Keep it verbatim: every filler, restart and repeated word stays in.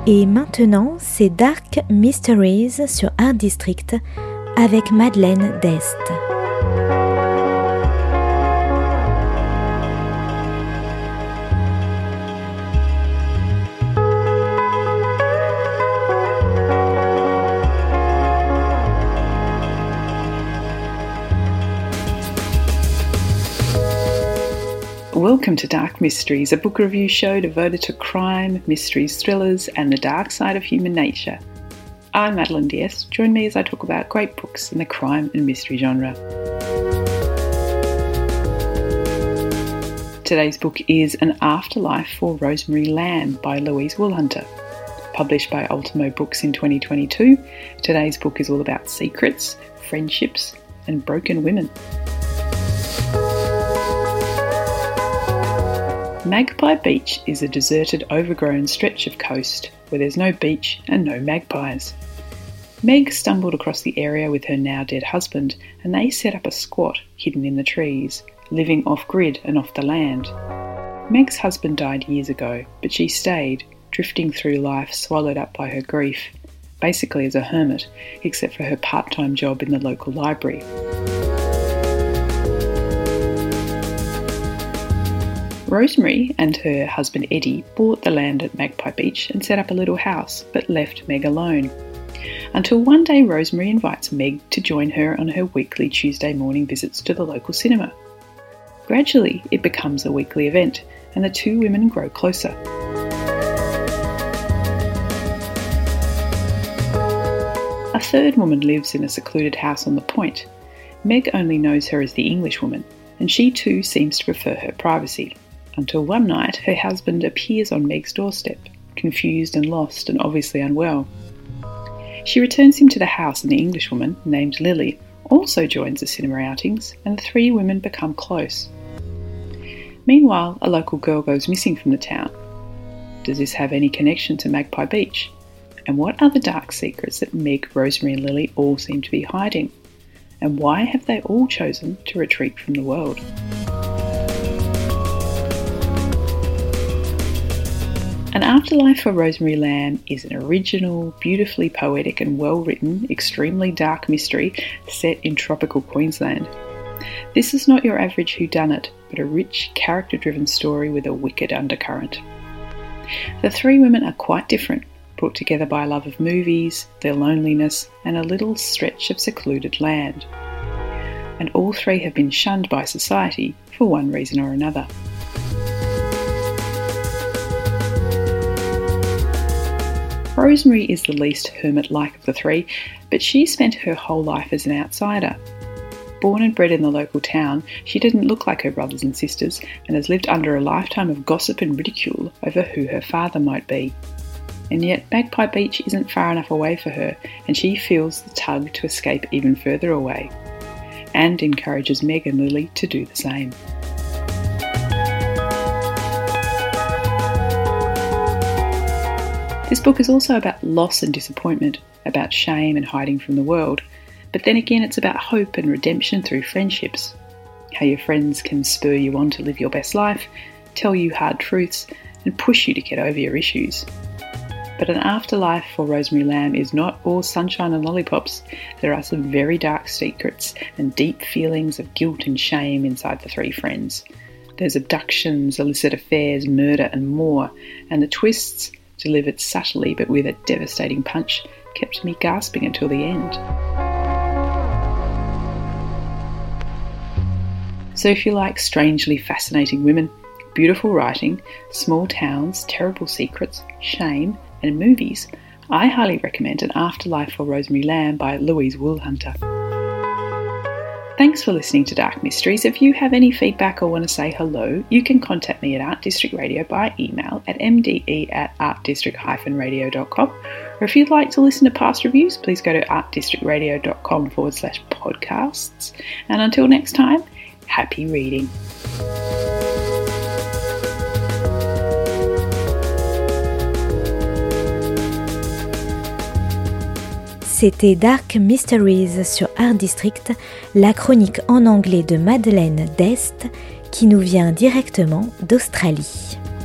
Et maintenant, c'est Dark Mysteries sur Art District avec Madeleine Dest. Welcome to Dark Mysteries, a book review show devoted to crime, mysteries, thrillers, and the dark side of human nature. I'm Madeleine Dest. Join me as I talk about great books in the crime and mystery genre. Today's book is An Afterlife for Rosemary Lamb by Louise Woolhunter. Published by Ultimo Books in twenty twenty-two, today's book is all about secrets, friendships, and broken women. Magpie Beach is a deserted, overgrown stretch of coast where there's no beach and no magpies. Meg stumbled across the area with her now-dead husband, and they set up a squat hidden in the trees, living off-grid and off the land. Meg's husband died years ago, but she stayed, drifting through life swallowed up by her grief, basically as a hermit, except for her part-time job in the local library. Rosemary and her husband Eddie bought the land at Magpie Beach and set up a little house, but left Meg alone. Until one day Rosemary invites Meg to join her on her weekly Tuesday morning visits to the local cinema. Gradually, it becomes a weekly event, and the two women grow closer. A third woman lives in a secluded house on the point. Meg only knows her as the English woman, and she too seems to prefer her privacy. Until one night, her husband appears on Meg's doorstep, confused and lost and obviously unwell. She returns him to the house, and the Englishwoman, named Lily, also joins the cinema outings, and the three women become close. Meanwhile, a local girl goes missing from the town. Does this have any connection to Magpie Beach? And what are the dark secrets that Meg, Rosemary and Lily all seem to be hiding? And why have they all chosen to retreat from the world? An Afterlife for Rosemary Lamb is an original, beautifully poetic and well-written, extremely dark mystery set in tropical Queensland. This is not your average whodunit, but a rich, character-driven story with a wicked undercurrent. The three women are quite different, brought together by a love of movies, their loneliness, and a little stretch of secluded land. And all three have been shunned by society for one reason or another. Rosemary is the least hermit-like of the three, but she spent her whole life as an outsider. Born and bred in the local town, she didn't look like her brothers and sisters and has lived under a lifetime of gossip and ridicule over who her father might be. And yet Magpie Beach isn't far enough away for her, and she feels the tug to escape even further away, and encourages Meg and Lily to do the same. This book is also about loss and disappointment, about shame and hiding from the world, but then again it's about hope and redemption through friendships. How your friends can spur you on to live your best life, tell you hard truths, and push you to get over your issues. But An Afterlife for Rosemary Lamb is not all sunshine and lollipops. There are some very dark secrets and deep feelings of guilt and shame inside the three friends. There's abductions, illicit affairs, murder and more, and the twists, delivered subtly but with a devastating punch, kept me gasping until the end. So if you like strangely fascinating women, beautiful writing, small towns, terrible secrets, shame, and movies, I highly recommend An Afterlife for Rosemary Lamb by Louise Woolhunter. Thanks for listening to Dark Mysteries. If you have any feedback or want to say hello, you can contact me at Art District Radio by email at m d e at art district dash radio dot com. Or if you'd like to listen to past reviews, please go to artdistrictradio.com forward slash podcasts. And until next time, happy reading. C'était Dark Mysteries sur Art District, la chronique en anglais de Madeleine Dest qui nous vient directement d'Australie.